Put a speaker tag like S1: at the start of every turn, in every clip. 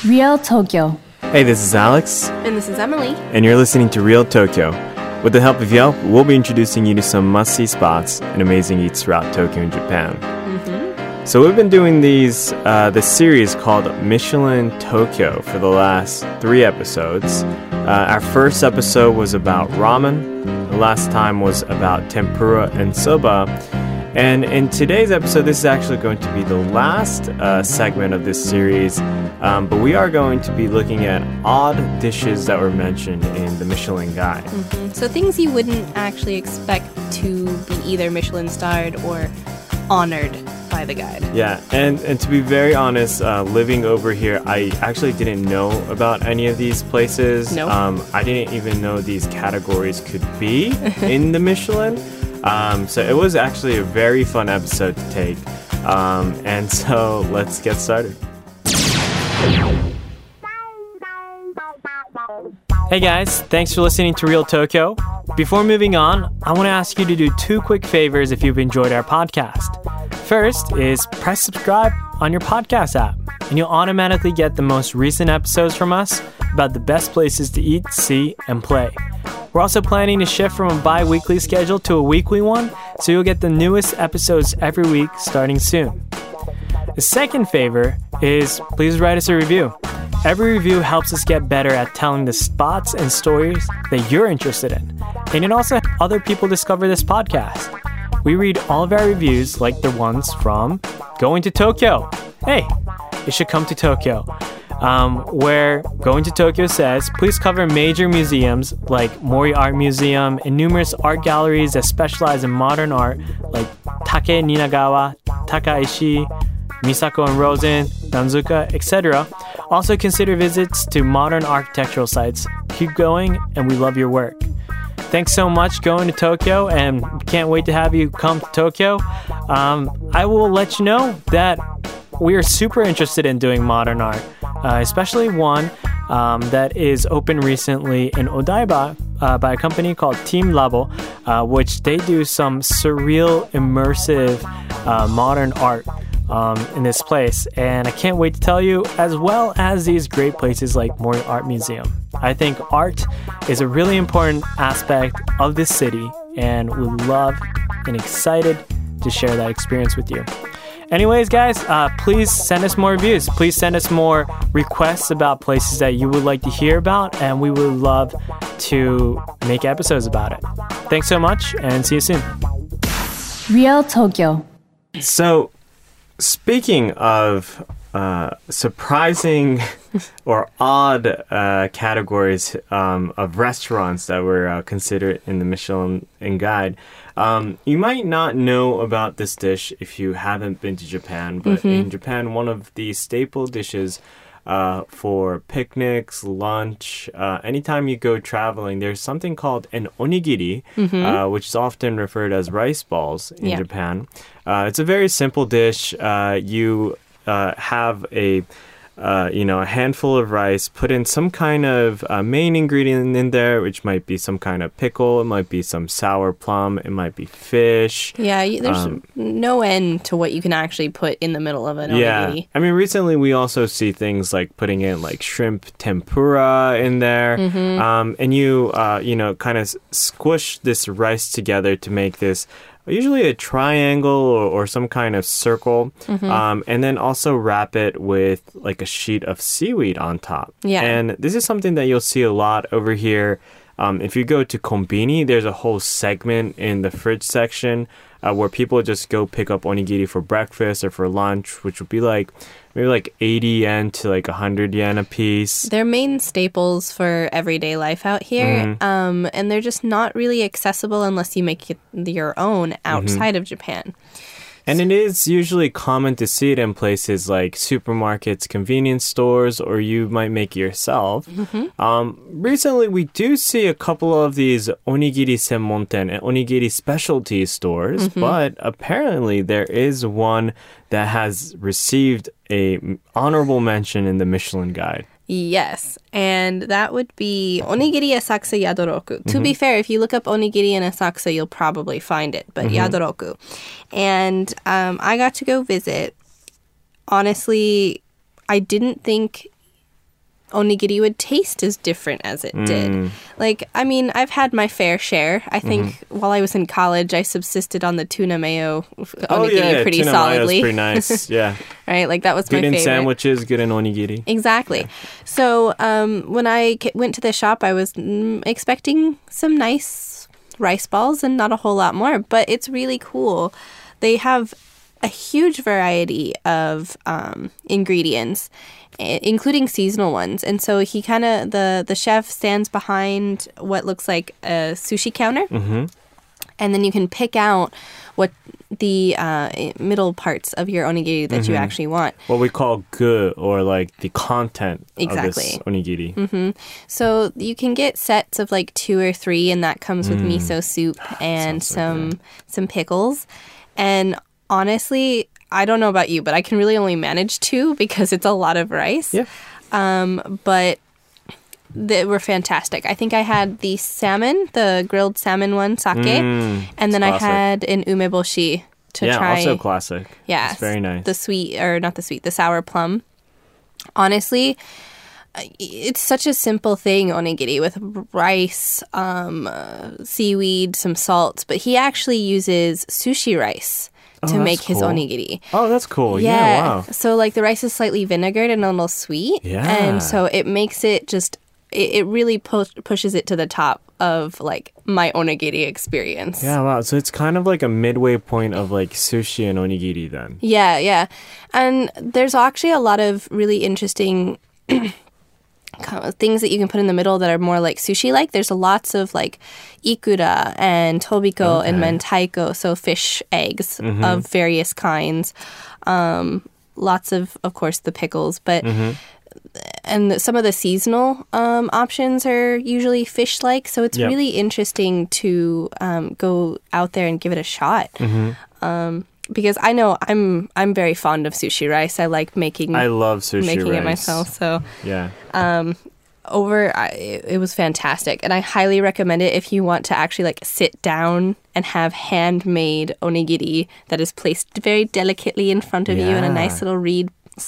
S1: Real Tokyo.
S2: Hey, this is Alex.
S3: And this is Emily.
S2: And you're listening to Real Tokyo. With the help of Yelp, we'll be introducing you to some must-see spots and amazing eats throughout Tokyo and Japan. So we've been doing this series called Michelin Tokyo for the last 3 episodes. Our first episode was about ramen. The last time was about tempura and soba. And in today's episode, this is actually going to be the last segment of this series. But we are going to be looking at odd dishes that were mentioned in the Michelin Guide.
S3: So things you wouldn't actually expect to be either Michelin starred or honored by the guide.
S2: Yeah, and to be very honest, living over here, I actually didn't know about any of these places.
S3: Nope.
S2: I didn't even know these categories could be in the Michelin. So it was actually a very fun episode to take. And so let's get started. Hey guys, thanks for listening to Real Tokyo. Before moving on, I want to ask you to do 2 quick favors if you've enjoyed our podcast. First is press subscribe on your podcast app, and you'll automatically get the most recent episodes from us about the best places to eat, see, and play. We're also planning to shift from a bi-weekly schedule to a weekly one, so you'll get the newest episodes every week starting soon. The second favor is please write us a review. Every review helps us get better at telling the spots and stories that you're interested in. And it also helps other people discover this podcast. We read all of our reviews, like the ones from Going to Tokyo. Hey, you should come to Tokyo. Where Going to Tokyo says, please cover major museums like Mori Art Museum and numerous art galleries that specialize in modern art like Take Ninagawa, Takaishi, Misako and Rosen, Danzuka, etc. Also consider visits to modern architectural sites. Keep going, and we love your work. Thanks so much Going to Tokyo, and can't wait to have you come to Tokyo. I will let you know that we are super interested in doing modern art, especially one that is open recently in Odaiba by a company called Team Labo, which they do some surreal, immersive modern art in this place, and I can't wait to tell you, as well as these great places like Mori Art Museum. I think art is a really important aspect of this city, and we love and excited to share that experience with you. Anyways, guys, please send us more reviews. Please send us more requests about places that you would like to hear about, and we would love to make episodes about it. Thanks so much, and see you soon.
S1: Real Tokyo.
S2: So, speaking of surprising or odd categories of restaurants that were considered in the Michelin Guide, you might not know about this dish if you haven't been to Japan, but in Japan, one of the staple dishes for picnics, lunch, anytime you go traveling, there's something called an onigiri, which is often referred as rice balls in Japan. It's a very simple dish. You have a handful of rice, put in some kind of main ingredient in there, which might be some kind of pickle, it might be some sour plum, it might be fish.
S3: Yeah, there's no end to what you can actually put in the middle of an onigiri.
S2: Yeah, I mean, recently we also see things like putting in like shrimp tempura in there, and you kind of squish this rice together to make this usually a triangle or some kind of circle, and then also wrap it with like a sheet of seaweed on top. Yeah. And this is something that you'll see a lot over here. If you go to Konbini, there's a whole segment in the fridge section where people just go pick up onigiri for breakfast or for lunch, which would be maybe like 80 yen to like 100 yen a piece.
S3: They're main staples for everyday life out here, and they're just not really accessible unless you make your own outside of Japan.
S2: And it is usually common to see it in places like supermarkets, convenience stores, or you might make it yourself. Recently, we do see a couple of these onigiri senmonten and onigiri specialty stores, but apparently there is one that has received a honorable mention in the Michelin Guide.
S3: Yes, and that would be Onigiri Asakusa Yadoroku. To be fair, if you look up onigiri in Asakusa, you'll probably find it, but Yadoroku. And I got to go visit. Honestly, I didn't think onigiri would taste as different as it did. Like, I mean, I've had my fair share. I think while I was in college, I subsisted on the tuna mayo onigiri pretty
S2: tuna
S3: solidly.
S2: Mayo's pretty nice. Yeah.
S3: Right? Like, that was
S2: Good
S3: my
S2: in
S3: favorite.
S2: sandwiches, good in onigiri.
S3: Exactly. So when I went to the shop, I was expecting some nice rice balls and not a whole lot more, but it's really cool. They have a huge variety of ingredients, including seasonal ones. And so he kind of, the chef stands behind what looks like a sushi counter. And then you can pick out what the middle parts of your onigiri that you actually want.
S2: What we call gu, or like the content
S3: Exactly.
S2: of this onigiri.
S3: So you can get sets of like 2 or 3, and that comes with miso soup and
S2: Sounds
S3: some pickles. And honestly, I don't know about you, but I can really only manage 2 because it's a lot of rice.
S2: Yeah.
S3: But they were fantastic. I think I had the salmon, the grilled salmon one, sake, and then I
S2: classic.
S3: had an umeboshi to
S2: Yeah,
S3: try.
S2: also classic.
S3: Yeah,
S2: It's very nice.
S3: The sweet, or not the sweet, the sour plum. Honestly, it's such a simple thing, onigiri, with rice, seaweed, some salt, but he actually uses sushi rice to
S2: that's
S3: make his
S2: cool.
S3: onigiri.
S2: Oh, that's cool. Yeah, wow.
S3: So like the rice is slightly vinegared and a little sweet.
S2: Yeah.
S3: And so it makes it just, it really pushes it to the top of like my onigiri experience.
S2: Yeah, wow. So it's kind of like a midway point of like sushi and onigiri then.
S3: Yeah, yeah. And there's actually a lot of really interesting kind of things that you can put in the middle that are more like sushi-like. There's lots of like ikura and tobiko and mentaiko, so fish eggs of various kinds. Lots of course, the pickles, but and some of the seasonal options are usually fish-like. So it's
S2: Yep.
S3: really interesting to go out there and give it a shot. Because I know I'm very fond of sushi rice. I like making
S2: I love sushi
S3: making
S2: rice.
S3: it myself. So
S2: Yeah.
S3: it was fantastic, and I highly recommend it if you want to actually like sit down and have handmade onigiri that is placed very delicately in front of you in a
S2: Yeah.
S3: nice little reed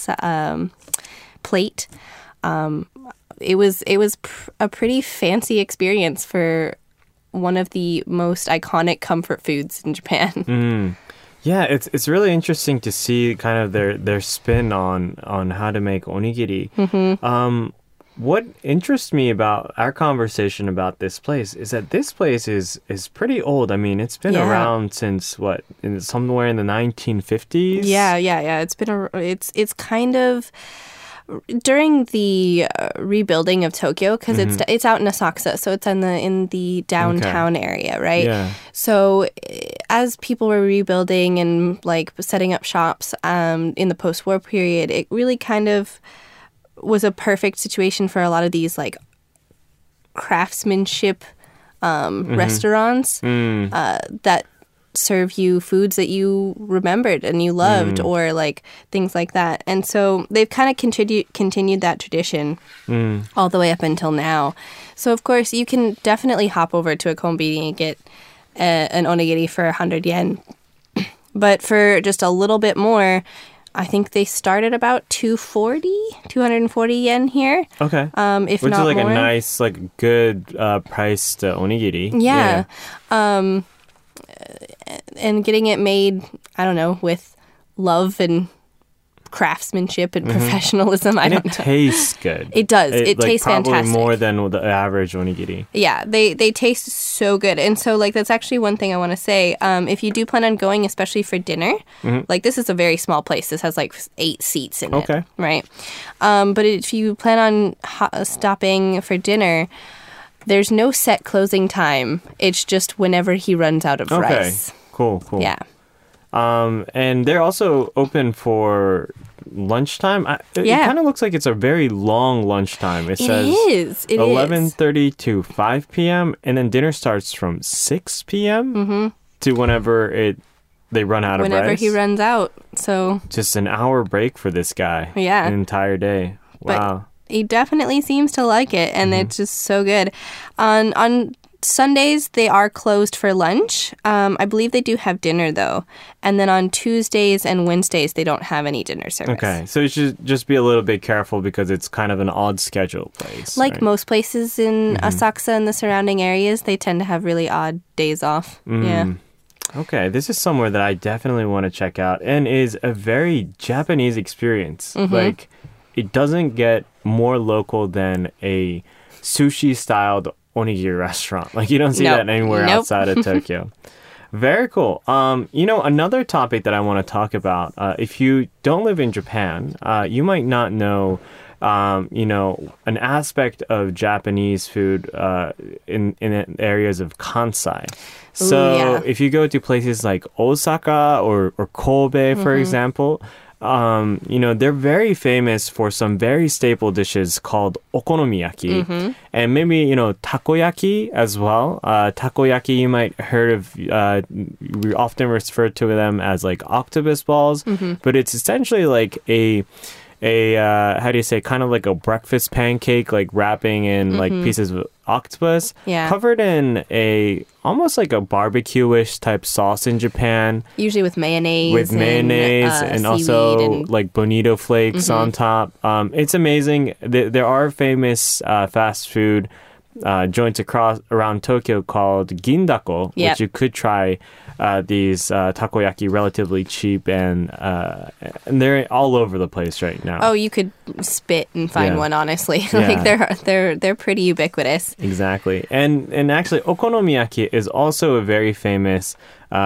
S3: plate. It was a pretty fancy experience for one of the most iconic comfort foods in Japan.
S2: Yeah, it's really interesting to see kind of their spin on how to make onigiri. What interests me about our conversation about this place is that this place is pretty old. I mean, it's been
S3: Yeah.
S2: around since somewhere in the 1950s.
S3: Yeah. It's kind of during the rebuilding of Tokyo, because it's out in Asakusa, so it's in the downtown area, right?
S2: Yeah.
S3: So as people were rebuilding and like setting up shops in the post-war period, it really kind of was a perfect situation for a lot of these like craftsmanship restaurants that serve you foods that you remembered and you loved, or like things like that. And so they've kind of continued that tradition all the way up until now. So of course you can definitely hop over to a konbini and get an onigiri for 100 yen. But for just a little bit more, I think they start at about 240 yen here.
S2: Okay.
S3: If
S2: Which
S3: not
S2: is like
S3: more.
S2: a nice, like good priced onigiri.
S3: Yeah. And getting it made, I don't know, with love and craftsmanship and professionalism. I
S2: And
S3: don't
S2: it
S3: know.
S2: tastes good.
S3: It does. It
S2: like,
S3: tastes
S2: probably
S3: fantastic.
S2: more than the average onigiri.
S3: Yeah, they taste so good. And so, like, that's actually one thing I want to say. If you do plan on going, especially for dinner, like, this is a very small place. This has, like, 8 seats in
S2: Okay.
S3: it, right? But if you plan on stopping for dinner, there's no set closing time. It's just whenever he runs out of
S2: Okay.
S3: rice.
S2: Cool.
S3: Yeah.
S2: And they're also open for lunchtime. It
S3: Yeah.
S2: kind of looks like it's a very long lunchtime. It says
S3: It is.
S2: 11:30 to 5 p.m. and then dinner starts from 6 p.m. To whenever they run out of
S3: Whenever
S2: rice.
S3: he runs out. So
S2: Just an hour break for this guy.
S3: Yeah.
S2: An entire day.
S3: But
S2: Wow.
S3: he definitely seems to like it, and it's just so good. On Sundays, they are closed for lunch. I believe they do have dinner, though. And then on Tuesdays and Wednesdays, they don't have any dinner service.
S2: Okay, so you should just be a little bit careful because it's kind of an odd schedule place.
S3: Like
S2: right?
S3: most places in Asakusa and the surrounding areas, they tend to have really odd days off. Yeah.
S2: Okay, this is somewhere that I definitely want to check out and is a very Japanese experience. Like, it doesn't get more local than a sushi-styled onigiri restaurant. Like, you don't see that anywhere outside of Tokyo. Very cool. Another topic that I want to talk about, if you don't live in Japan, you might not know an aspect of Japanese food in areas of Kansai. So if you go to places like Osaka or Kobe, for example, they're very famous for some very staple dishes called okonomiyaki. And maybe, takoyaki as well. Takoyaki, you might heard of, we often refer to them as like octopus balls, but it's essentially like a how do you say, kind of like a breakfast pancake, like wrapping in like pieces of octopus, covered in almost like a barbecue-ish type sauce in Japan.
S3: Usually with mayonnaise.
S2: And also like bonito flakes on top. It's amazing. There are famous fast food joints around Tokyo called Gindako, which you could try. These takoyaki relatively cheap and they're all over the place right now.
S3: Oh, you could spit and find one, honestly. Like they're pretty ubiquitous.
S2: Exactly. And actually okonomiyaki is also a very famous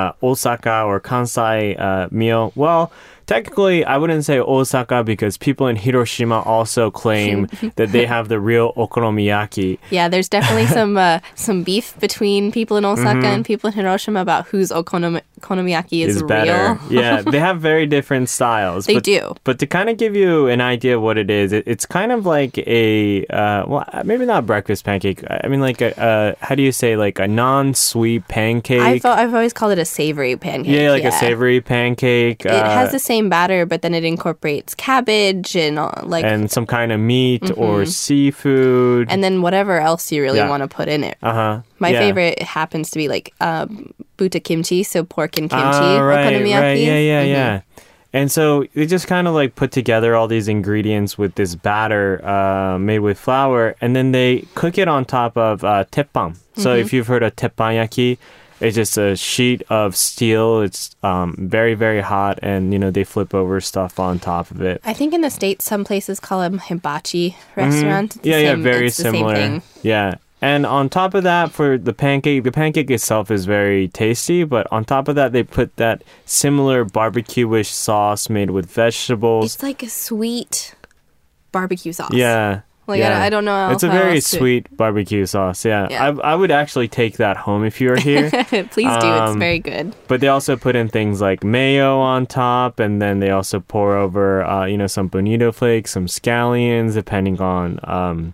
S2: Osaka or Kansai meal. Well, technically, I wouldn't say Osaka because people in Hiroshima also claim that they have the real okonomiyaki.
S3: Yeah, there's definitely some beef between people in Osaka and people in Hiroshima about whose okonomiyaki is
S2: better.
S3: real.
S2: Yeah, they have very different styles.
S3: They do.
S2: But to kind of give you an idea of what it is, it's kind of like a, maybe not breakfast pancake. I mean, like how do you say, like a non-sweet pancake?
S3: I've always called it a savory pancake.
S2: Yeah, like a savory pancake.
S3: It has the same batter, but then it incorporates cabbage and
S2: some kind of meat or seafood,
S3: and then whatever else you really want to put in it. My favorite happens to be like buta kimchi, so pork and kimchi okonomiyaki.
S2: Right. Yeah. And so they just kind of like put together all these ingredients with this batter made with flour, and then they cook it on top of teppan. So if you've heard of teppanyaki, it's just a sheet of steel. It's very, very hot, and they flip over stuff on top of it.
S3: I think in the States, some places call them hibachi restaurants.
S2: Very similar.
S3: Same thing.
S2: Yeah. And on top of that, for the pancake itself is very tasty, but on top of that, they put that similar barbecue-ish sauce made with vegetables.
S3: It's like a sweet barbecue sauce.
S2: Yeah.
S3: I don't know.
S2: It's a very sweet barbecue sauce. Yeah. I would actually take that home if you were here.
S3: Please do. It's very good.
S2: But they also put in things like mayo on top, and then they also pour over, some bonito flakes, some scallions, depending on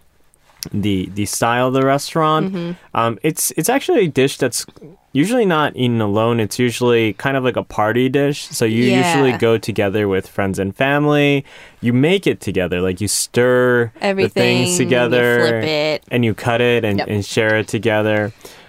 S2: the style of the restaurant. It's actually a dish that's usually not eaten alone. It's usually kind of like a party dish. So you usually go together with friends and family. You make it together. Like you stir the things together.
S3: You flip it.
S2: And you cut it and share it together.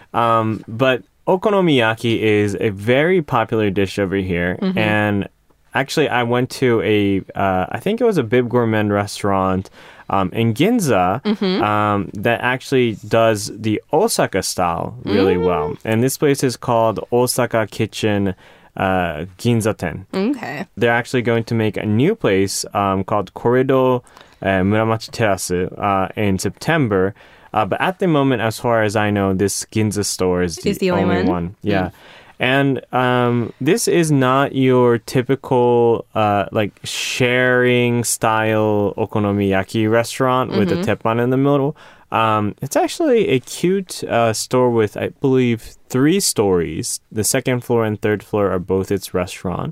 S2: But okonomiyaki is a very popular dish over here. And actually, I went to I think it was a Bib Gourmet restaurant in Ginza that actually does the Osaka style really well. And this place is called Osaka Kitchen Ginza-ten.
S3: Okay.
S2: They're actually going to make a new place called Corridor Muramachi Terrace in September. But at the moment, as far as I know, this Ginza store is the only one. Yeah. And this is not your typical like sharing style okonomiyaki restaurant with a teppan in the middle. It's actually a cute store with, I believe, 3 stories. The second floor and third floor are both its restaurant.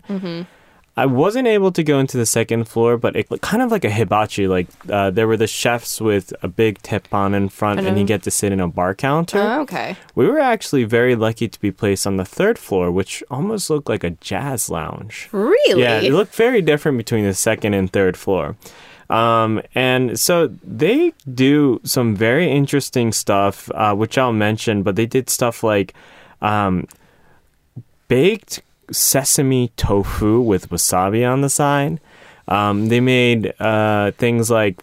S2: I wasn't able to go into the second floor, but it kind of like a hibachi. Like there were the chefs with a big teppan in front, and you get to sit in a bar counter.
S3: Oh, okay.
S2: We were actually very lucky to be placed on the third floor, which almost looked like a jazz lounge.
S3: Really?
S2: Yeah, it looked very different between the second and third floor. And so they do some very interesting stuff, which I'll mention, but they did stuff like baked sesame tofu with wasabi on the side. They made things like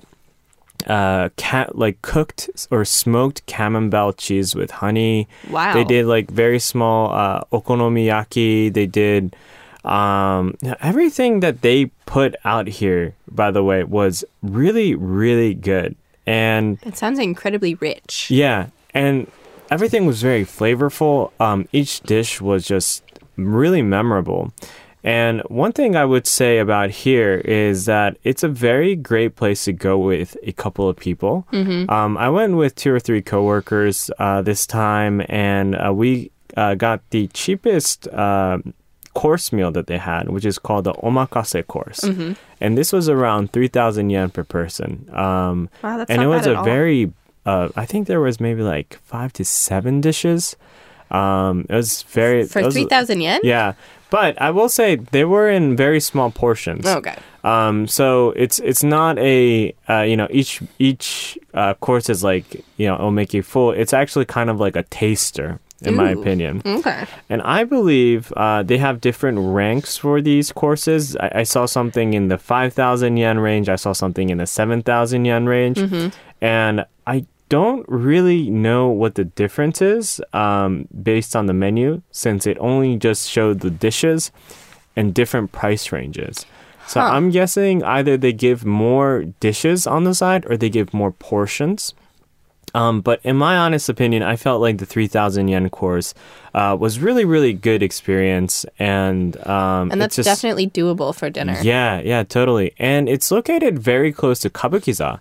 S2: cooked or smoked camembert cheese with honey.
S3: Wow.
S2: They did like very small okonomiyaki. They did everything that they put out here, by the way, was really, really good. And
S3: It sounds incredibly rich.
S2: yeah, and everything was very flavorful. Each dish was just really memorable. And one thing I would say about here is that it's a very great place to go with a couple of people. I went with 2 or 3 coworkers this time, and we got the cheapest course meal that they had, which is called the omakase course. And this was around 3,000 yen per person.
S3: Wow, that's
S2: And
S3: not
S2: it was
S3: bad
S2: a
S3: at all.
S2: very, I think there was maybe like 5 to 7 dishes. It was very...
S3: For
S2: it was-
S3: 3,000 yen?
S2: Yeah. But I will say they were in very small portions.
S3: Okay.
S2: So it's not a each course is like it'll make you full. It's actually kind of like a taster, in my
S3: Ooh.
S2: opinion.
S3: Okay.
S2: And I believe they have different ranks for these courses. I saw something in the 5,000 yen range. I saw something in the 7,000 yen range, and I don't really know what the difference is based on the menu, since it only just showed the dishes and different price ranges. So I'm guessing either they give more dishes on the side or they give more portions. But in my honest opinion, I felt like the 3,000 yen course was really, really good experience. And
S3: And that's
S2: it's just,
S3: definitely doable for dinner.
S2: yeah, totally. And it's located very close to Kabukiza.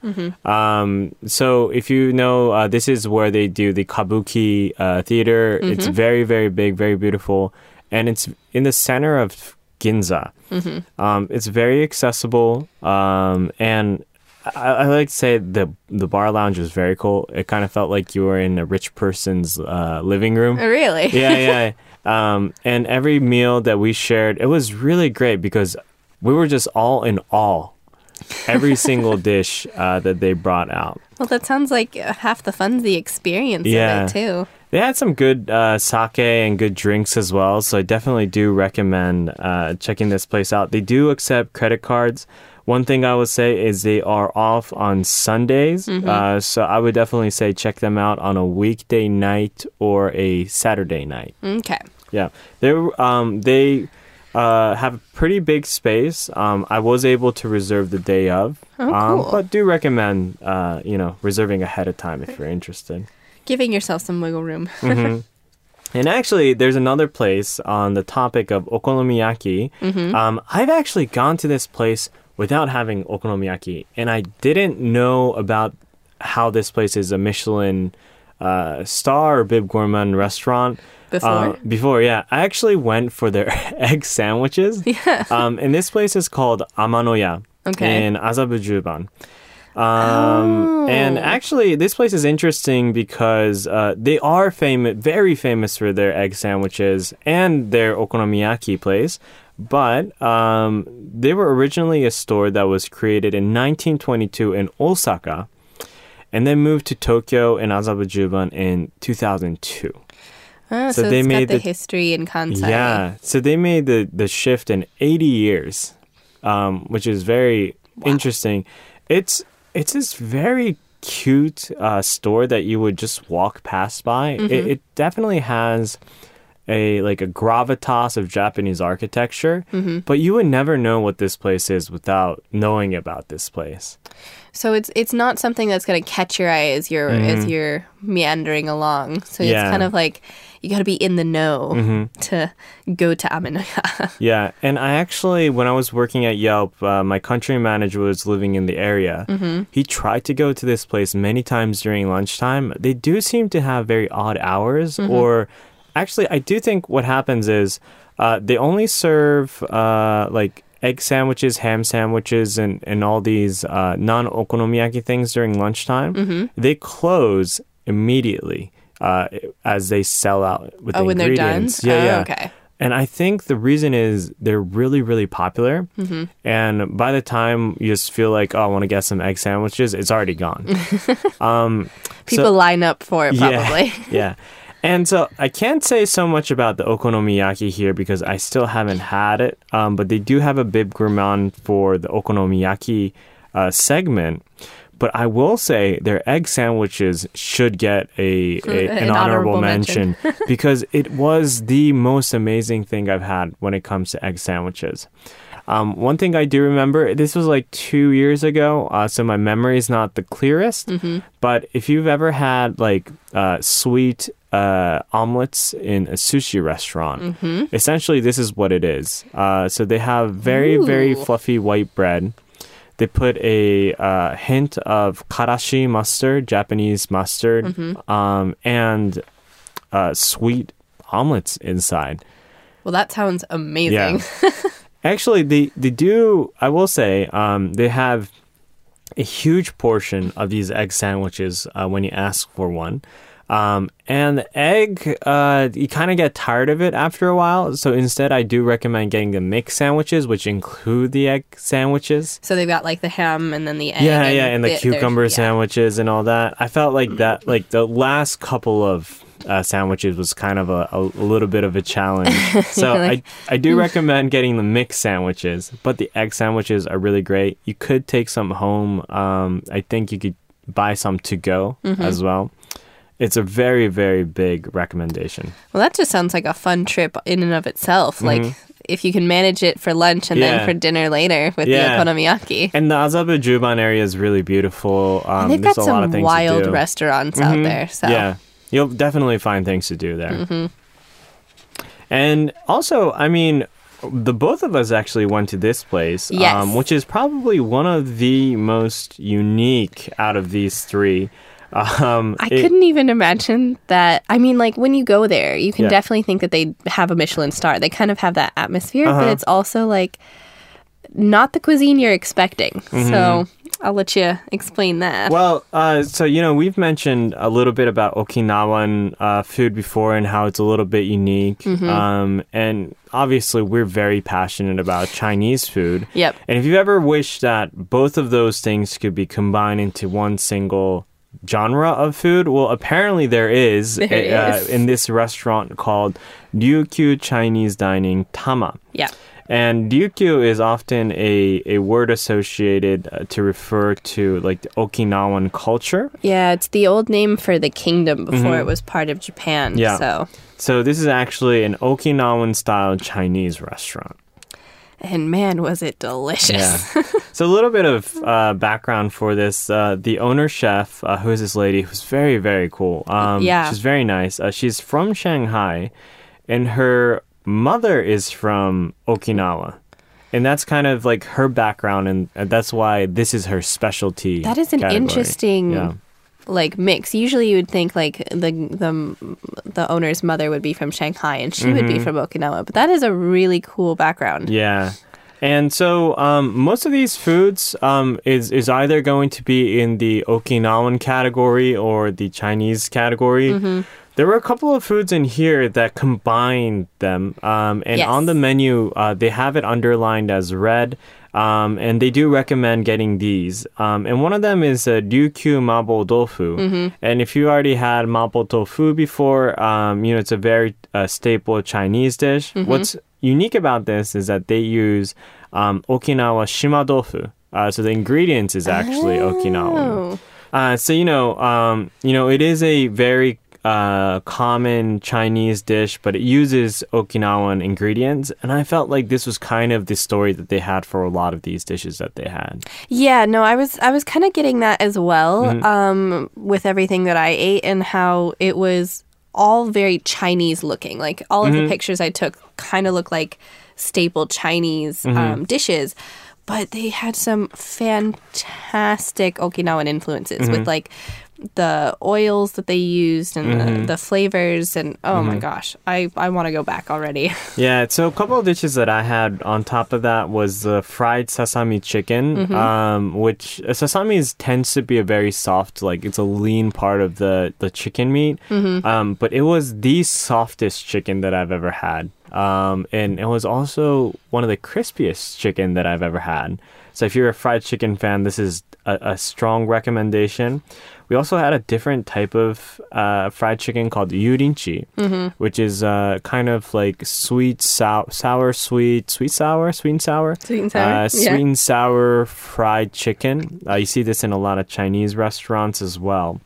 S2: So if you know, this is where they do the Kabuki theater. It's very, very big, very beautiful. And it's in the center of Ginza. It's very accessible. And I like to say the bar lounge was very cool. It kind of felt like you were in a rich person's living room.
S3: Oh, really?
S2: Yeah. And every meal that we shared, it was really great because we were just all in awe. Every single dish that they brought out.
S3: Well, that sounds like half the fun's the experience
S2: Yeah.
S3: of it, too.
S2: They had some good sake and good drinks as well, so I definitely do recommend checking this place out. They do accept credit cards. One thing I would say is they are off on Sundays, so I would definitely say check them out on a weekday night or a Saturday night.
S3: Okay.
S2: Yeah, they have a pretty big space. I was able to reserve the day of,
S3: cool.
S2: but do recommend reserving ahead of time if you're interested.
S3: Giving yourself some wiggle room.
S2: And actually, there's another place on the topic of okonomiyaki. I've actually gone to this place without having okonomiyaki, and I didn't know about how this place is a Michelin star or Bib Gourmand restaurant.
S3: Before?
S2: Yeah. I actually went for their egg sandwiches.
S3: Yeah.
S2: And this place is called Amanoya
S3: Okay.
S2: in Azabujuban. And actually, this place is interesting because they are very famous for their egg sandwiches and their okonomiyaki place. But they were originally a store that was created in 1922 in Osaka and then moved to Tokyo and Azabujuban in 2002.
S3: Oh,
S2: So
S3: so
S2: they
S3: it's
S2: made
S3: got the
S2: the-
S3: history in Kansai.
S2: Yeah, so they made the shift in 80 years, which is very interesting. It's this very cute store that you would just walk past by. It definitely has a gravitas of Japanese architecture, but you would never know what this place is without knowing about this place.
S3: So it's not something that's going to catch your eye as you're meandering along. So it's
S2: Yeah.
S3: kind of like you got to be in the know to go to Amanoya.
S2: Yeah, and I actually, when I was working at Yelp, my country manager was living in the area. He tried to go to this place many times during lunchtime. They do seem to have very odd hours, or actually, I do think what happens is they only serve egg sandwiches, ham sandwiches, and all these non-okonomiyaki things during lunchtime. They close immediately as they sell out with the
S3: when they're done?
S2: ingredients. Yeah.
S3: Okay.
S2: And I think the reason is they're really, really popular. And by the time you just feel like, oh, I want to get some egg sandwiches, it's already gone.
S3: People line up for it probably.
S2: Yeah. And so I can't say so much about the okonomiyaki here because I still haven't had it. But they do have a bib gourmand for the okonomiyaki segment. But I will say their egg sandwiches should get an honorable mention because it was the most amazing thing I've had when it comes to egg sandwiches. One thing I do remember, this was like 2 years ago, so my memory is not the clearest. But if you've ever had like sweet omelets in a sushi restaurant, essentially this is what it is. So they have very, very fluffy white bread. They put a hint of karashi mustard, Japanese mustard, and sweet omelets inside.
S3: Well, that sounds amazing.
S2: Yeah. Actually, they do, I will say, they have a huge portion of these egg sandwiches when you ask for one. And the egg, you kind of get tired of it after a while. So instead, I do recommend getting the mixed sandwiches, which include the egg sandwiches.
S3: So they've got like the ham and then the egg.
S2: Yeah, and the cucumber sandwiches and all that. I felt like that, like the last couple of sandwiches was kind of a little bit of a challenge. So I do recommend getting the mixed sandwiches, but the egg sandwiches are really great. You could take some home. I think you could buy some to go as well. It's a very, very big recommendation.
S3: Well, that just sounds like a fun trip in and of itself. Like, if you can manage it for lunch and then for dinner later with the okonomiyaki.
S2: And the Azabu Juban area is really beautiful.
S3: And they've got some wild restaurants out there. So.
S2: Yeah, you'll definitely find things to do there. And also, I mean, the both of us actually went to this place, which is probably one of the most unique out of these three.
S3: I couldn't even imagine that. I mean, like, when you go there, you can definitely think that they have a Michelin star. They kind of have that atmosphere, but it's also, like, not the cuisine you're expecting. So I'll let you explain that.
S2: Well, so, you know, we've mentioned a little bit about Okinawan food before and how it's a little bit unique. And obviously, we're very passionate about Chinese food.
S3: Yep.
S2: And if you've ever wished that both of those things could be combined into one single genre of food, well, apparently there is in this restaurant called Ryukyu Chinese Dining Tama.
S3: Yeah.
S2: And Ryukyu is often a word associated to refer to like the Okinawan culture.
S3: Yeah, it's the old name for the kingdom before it was part of Japan.
S2: Yeah. So this is actually an Okinawan style Chinese restaurant.
S3: And man, was it delicious.
S2: Yeah. So a little bit of background for this. The owner chef, who is this lady, who's very, very cool. She's very nice. She's from Shanghai, and her mother is from Okinawa. And that's kind of like her background, and that's why this is her specialty.
S3: That is an interesting like mix. Usually you would think like the owner's mother would be from Shanghai and she would be from Okinawa, but that is a really cool background.
S2: Yeah. And so most of these foods is either going to be in the Okinawan category or the Chinese category. There were a couple of foods in here that combined them. And on the menu, they have it underlined as red. And they do recommend getting these. And one of them is Ryukyu Mabo Tofu. And if you already had Mabo Tofu before, you know, it's a very staple Chinese dish. What's unique about this is that they use Okinawa Shima Tofu. So the ingredients is actually Okinawan. So, you know, it is a very common Chinese dish, but it uses Okinawan ingredients, and I felt like this was kind of the story that they had for a lot of these dishes that they had.
S3: Yeah, no, I was kind of getting that as well, with everything that I ate and how it was all very Chinese looking. Like all of the pictures I took kind of look like staple Chinese dishes. But they had some fantastic Okinawan influences with like the oils that they used and the flavors, and oh my gosh, I want to go back already. Yeah,
S2: so a couple of dishes that I had on top of that was the fried sesame chicken, which sesame tends to be a very soft, like it's a lean part of the chicken meat, but it was the softest chicken that I've ever had. And it was also one of the crispiest chicken that I've ever had. So if you're a fried chicken fan, this is a strong recommendation. We also had a different type of fried chicken called yurinchi, which is kind of like sweet and sour.
S3: Sweet and sour?
S2: Sweet and sour fried chicken. You see this in a lot of Chinese restaurants as well.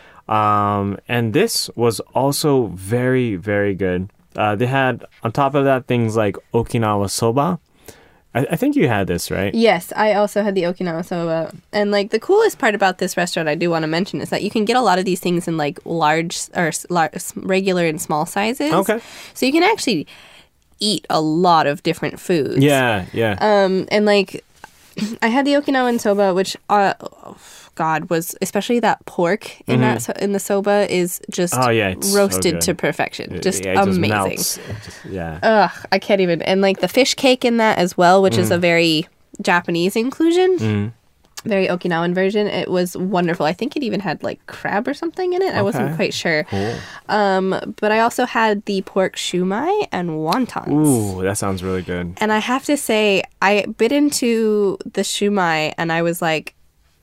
S2: And this was also very, very good. They had, on top of that, things like Okinawa soba. I think you had this, right?
S3: Yes, I also had the Okinawa soba. And like the coolest part about this restaurant I do want to mention is that you can get a lot of these things in like large, regular and small sizes.
S2: Okay.
S3: So you can actually eat a lot of different foods.
S2: Yeah.
S3: And like I had the Okinawan soba, which was especially that pork in in the soba is just roasted to perfection. Just amazing.
S2: Just melts.
S3: I can't even. And like the fish cake in that as well, which is a very Japanese inclusion. Very Okinawan version. It was wonderful. I think it even had like crab or something in it. I wasn't quite sure.
S2: Cool.
S3: But I also had the pork shumai and wontons.
S2: Ooh, that sounds really good.
S3: And I have to say, I bit into the shumai and I was like,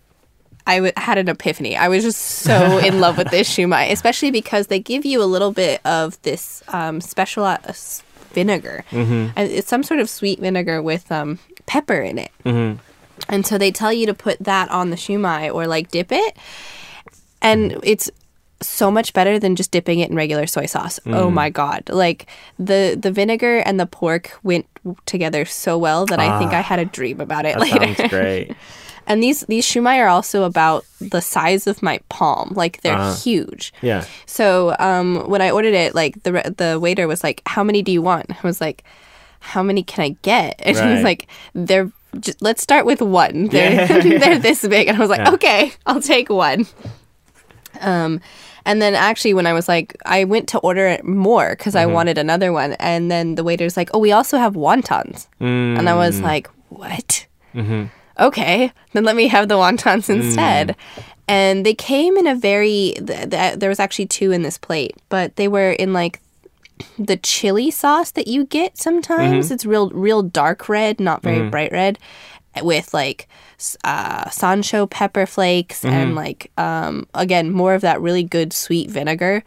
S3: had an epiphany. I was just so in love with this shumai, especially because they give you a little bit of this special vinegar. And it's some sort of sweet vinegar with pepper in it. And so they tell you to put that on the shumai or like dip it. And it's so much better than just dipping it in regular soy sauce. Oh my God. Like the vinegar and the pork went together so well that I think I had a dream about it later.
S2: That sounds great.
S3: And these shumai are also about the size of my palm. Like, they're huge.
S2: Yeah.
S3: So when I ordered it, like, the waiter was like, how many do you want? I was like, how many can I get? And he was like, let's start with one. They're this big. And I was like, okay, I'll take one. And then actually when I was like, I went to order it more because I wanted another one. And then the waiter's like, oh, we also have wontons. And I was like, what? Okay, then let me have the wontons instead. And they came in a there was actually two in this plate, but they were in like the chili sauce that you get sometimes. It's real dark red, not very bright red, with like sansho pepper flakes and like, again, more of that really good sweet vinegar.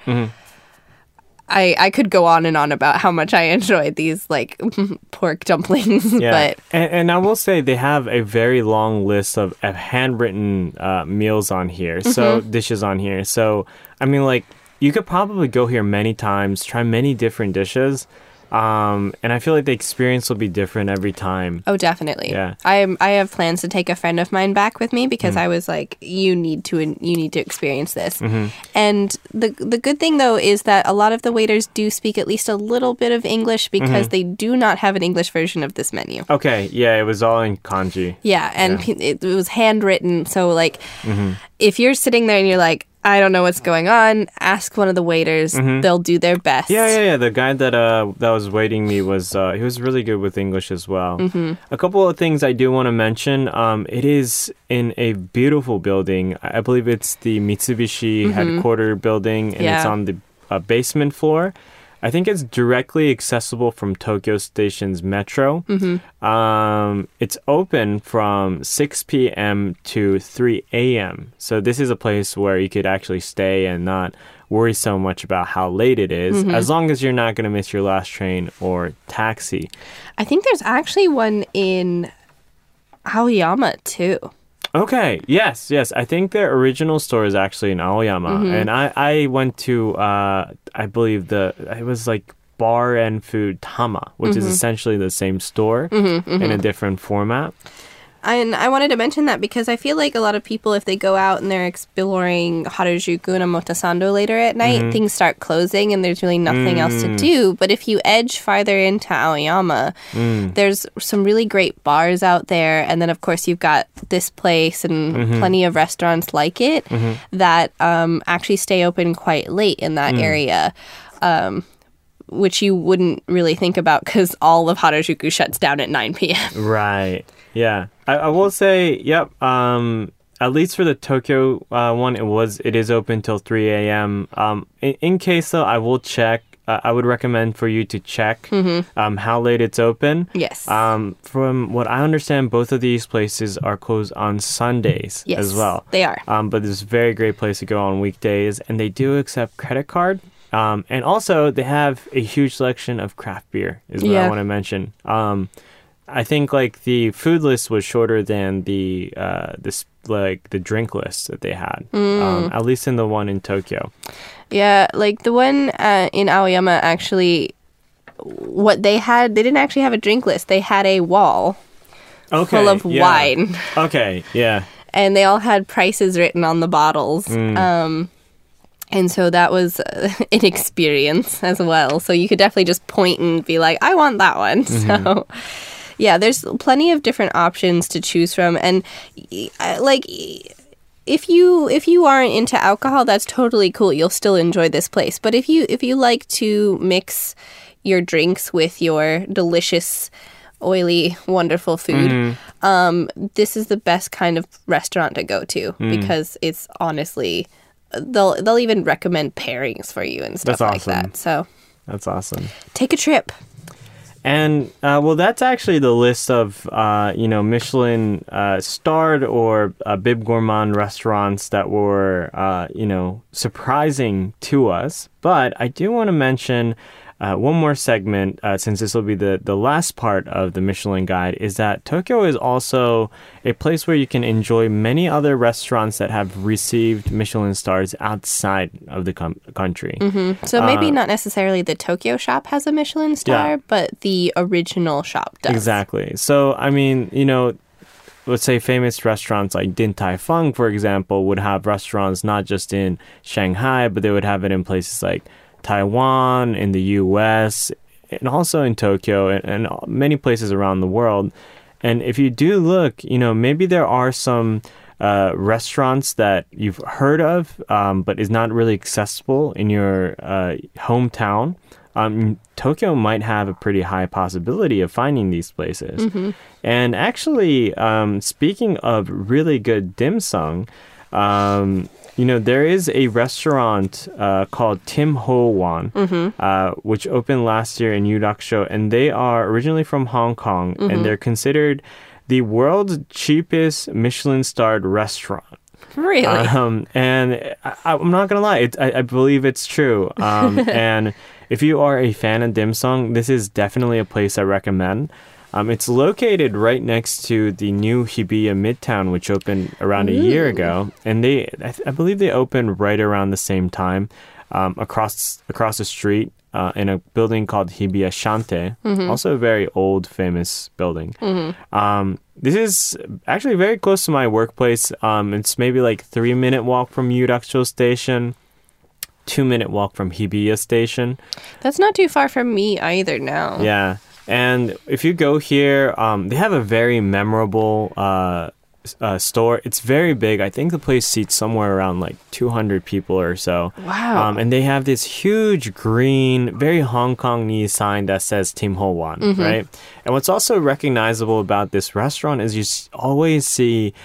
S3: I could go on and on about how much I enjoyed these like pork dumplings.
S2: Yeah.
S3: But
S2: and I will say they have a very long list of handwritten meals on here, so dishes on here. So I mean, like, you could probably go here many times, try many different dishes. And I feel like the experience will be different every time.
S3: Oh, definitely.
S2: Yeah.
S3: I have plans to take a friend of mine back with me because I was like, you need to experience this. And the good thing though is that a lot of the waiters do speak at least a little bit of English because they do not have an English version of this menu.
S2: Okay. Yeah, it was all in kanji.
S3: Yeah, and it was handwritten. So like, if you're sitting there and you're like, I don't know what's going on, ask one of the waiters. They'll do their best.
S2: Yeah. The guy that was waiting me was he was really good with English as well. A couple of things I do want to mention. It is in a beautiful building. I believe it's the Mitsubishi headquarter building, and it's on the basement floor. I think it's directly accessible from Tokyo Station's metro. It's open from 6 p.m. to 3 a.m. So this is a place where you could actually stay and not worry so much about how late it is, as long as you're not going to miss your last train or taxi. I
S3: think there's actually one in Aoyama too.
S2: Okay, yes. I think their original store is actually in Aoyama. And I went to, I believe it was like Bar and Food Tama, which is essentially the same store in a different format.
S3: And I wanted to mention that because I feel like a lot of people, if they go out and they're exploring Harajuku and Omotesando later at night, things start closing and there's really nothing else to do. But if you edge farther into Aoyama, there's some really great bars out there. And then, of course, you've got this place and plenty of restaurants like it that actually stay open quite late in that area. Which you wouldn't really think about because all of Harajuku shuts down at 9 p.m.
S2: Right. Yeah. I will say, yep. At least for the Tokyo one, it is open till 3 a.m. In case though, I will check I would recommend for you to check how late it's open.
S3: Yes.
S2: From what I understand, both of these places are closed on Sundays
S3: Yes,
S2: as well.
S3: they are.
S2: But it's a very great place to go on weekdays, and they do accept credit card. And also, they have a huge selection of craft beer, is what I want to mention. I think like the food list was shorter than the drink list that they had, at least in the one in Tokyo.
S3: Yeah, like the one in Aoyama, actually, what they had, they didn't actually have a drink list. They had a wall full of wine.
S2: Okay, yeah.
S3: And they all had prices written on the bottles. And so that was an experience as well. So you could definitely just point and be like, I want that one. So, yeah, there's plenty of different options to choose from. And, like, if you aren't into alcohol, that's totally cool. You'll still enjoy this place. But if you like to mix your drinks with your delicious, oily, wonderful food, this is the best kind of restaurant to go to because it's honestly... They'll even recommend pairings for you and stuff like that. So
S2: that's awesome.
S3: Take a trip.
S2: And well, that's actually the list of Michelin starred or Bib Gourmand restaurants that were surprising to us. But I do want to mention one more segment, since this will be the last part of the Michelin Guide, is that Tokyo is also a place where you can enjoy many other restaurants that have received Michelin stars outside of the country.
S3: So maybe not necessarily the Tokyo shop has a Michelin star, but the original shop does.
S2: Exactly. So, I mean, let's say famous restaurants like Din Tai Fung, for example, would have restaurants not just in Shanghai, but they would have it in places like Taiwan, in the US, and also in Tokyo, and many places around the world. And if you do look, maybe there are some restaurants that you've heard of, but is not really accessible in your hometown. Tokyo might have a pretty high possibility of finding these places. And actually, speaking of really good dim sum, there is a restaurant called Tim Ho Wan, which opened last year in Yudaksho, and they are originally from Hong Kong, and they're considered the world's cheapest Michelin-starred restaurant.
S3: Really?
S2: And I'm not going to lie, I believe it's true. And if you are a fan of dim sum, this is definitely a place I recommend. It's located right next to the new Hibiya Midtown, which opened around a year ago. And I believe they opened right around the same time across the street in a building called Hibiya Shante, also a very old, famous building. This is actually very close to my workplace. It's maybe like 3-minute walk from Yudaksho Station, 2-minute walk from Hibiya Station.
S3: That's not too far from me either now.
S2: Yeah. And if you go here, they have a very memorable store. It's very big. I think the place seats somewhere around like 200 people or so.
S3: Wow.
S2: And they have this huge green, very Hong Kong-y sign that says Tim Ho Wan, right? And what's also recognizable about this restaurant is you always see,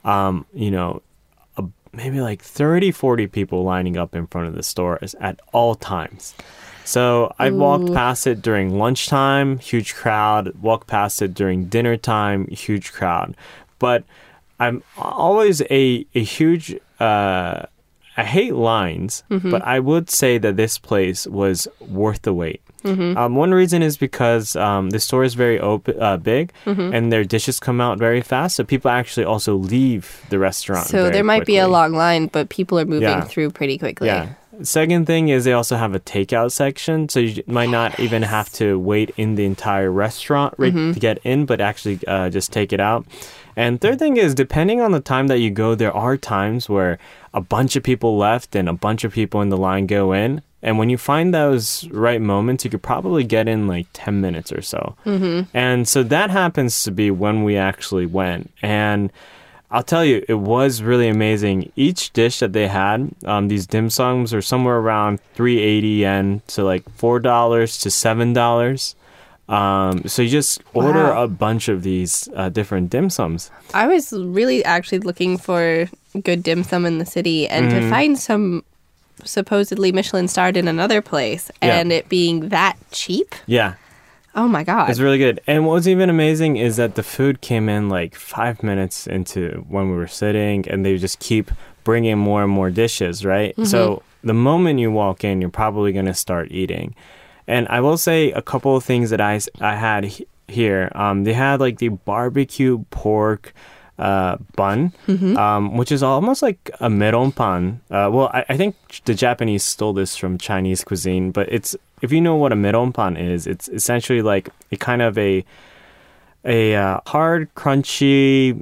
S2: maybe like 30, 40 people lining up in front of the store at all times. So I walked past it during lunchtime, huge crowd. Walked past it during dinner time, huge crowd. But I'm always a huge... I hate lines, but I would say that this place was worth the wait. One reason is because the store is very big, and their dishes come out very fast, so people actually also leave the restaurant.
S3: So there might be a long line, but people are moving through pretty quickly.
S2: Yeah. Second thing is they also have a takeout section, so you might not even have to wait in the entire restaurant to get in, but actually just take it out. And third thing is, depending on the time that you go, there are times where a bunch of people left and a bunch of people in the line go in. And when you find those right moments, you could probably get in like 10 minutes or so. And so that happens to be when we actually went. And I'll tell you, it was really amazing. Each dish that they had, these dim sums are somewhere around 380 yen to like $4 to $7. So you just order a bunch of these different dim sums.
S3: I was really actually looking for good dim sum in the city, and to find some supposedly Michelin starred in another place and it being that cheap.
S2: Yeah.
S3: Oh my God.
S2: It's really good. And what was even amazing is that the food came in like 5 minutes into when we were sitting, and they just keep bringing more and more dishes, right? So the moment you walk in, you're probably going to start eating. And I will say a couple of things that I had here. They had like the barbecue pork bun, which is almost like a meronpan. Well, I think the Japanese stole this from Chinese cuisine, but if you know what a meronpan is, it's essentially like a kind of a hard, crunchy,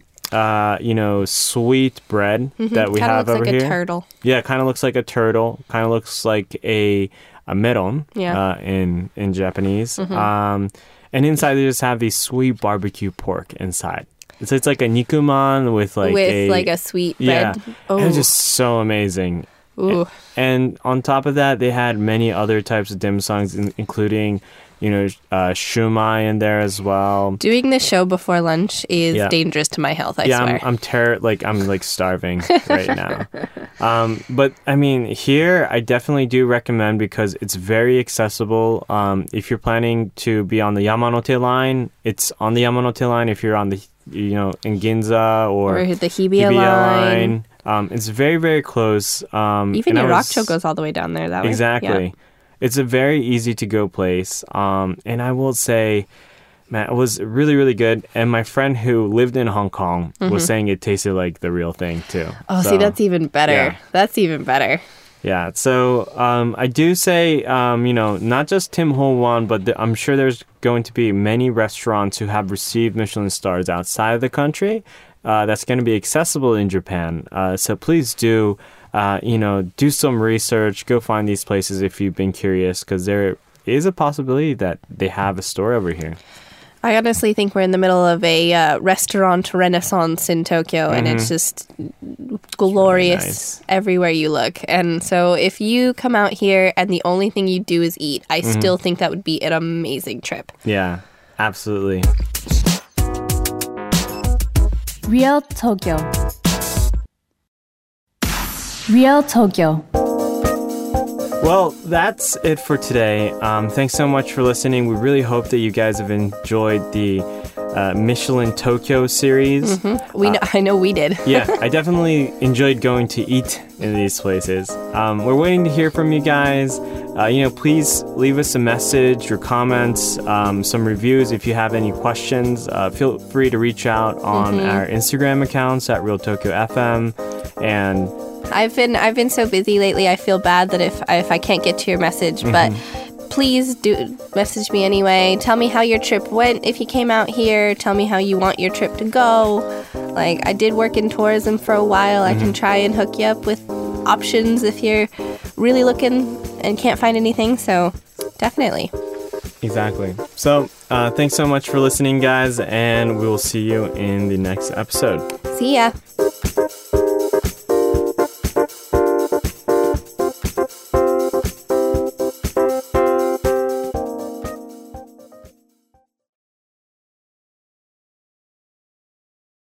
S2: sweet bread that we have over here. Kind of looks like a
S3: turtle.
S2: Yeah, kind of looks like a turtle. Kind of looks like a meron in Japanese. And inside they just have these sweet barbecue pork inside. So it's like a nikuman with a
S3: sweet bread.
S2: Yeah, it was just so amazing.
S3: Ooh.
S2: And on top of that, they had many other types of dim sums, including, shumai in there as well.
S3: Doing this show before lunch is dangerous to my health, I swear.
S2: I'm I'm starving right now. But I mean, here I definitely do recommend because it's very accessible. If you're planning to be on the Yamanote line, it's on the Yamanote line. If you're on the, in Ginza or
S3: the Hibiya line.
S2: It's very, very close.
S3: Even Yorakucho goes all the way down there that way.
S2: Exactly.
S3: Yeah.
S2: It's a very easy to go place. And I will say, man, it was really, really good. And my friend who lived in Hong Kong was saying it tasted like the real thing too.
S3: Oh, see, that's even better. Yeah. That's even better.
S2: Yeah. So I do say, not just Tim Ho Wan, but I'm sure there's going to be many restaurants who have received Michelin stars outside of the country. That's going to be accessible in Japan. So please do, do some research. Go find these places if you've been curious, because there is a possibility that they have a store over here.
S3: I honestly think we're in the middle of a restaurant renaissance in Tokyo, and it's just glorious nice. Everywhere you look. And so if you come out here and the only thing you do is eat, I still think that would be an amazing trip.
S2: Yeah, absolutely.
S1: Real Tokyo. Real Tokyo.
S2: Well, that's it for today. Thanks so much for listening. We really hope that you guys have enjoyed the Michelin Tokyo series.
S3: I know we did.
S2: Yeah, I definitely enjoyed going to eat in these places. We're waiting to hear from you guys. Please leave us a message, your comments, some reviews. If you have any questions, feel free to reach out on our Instagram accounts at Real Tokyo FM. And
S3: I've been so busy lately. I feel bad that if I can't get to your message, but please do message me anyway. Tell me how your trip went if you came out here. Tell me how you want your trip to go. Like, I did work in tourism for a while. I can try and hook you up with options if you're really looking and can't find anything. So definitely.
S2: Exactly. So thanks so much for listening, guys, and we will see you in the next episode.
S3: See ya.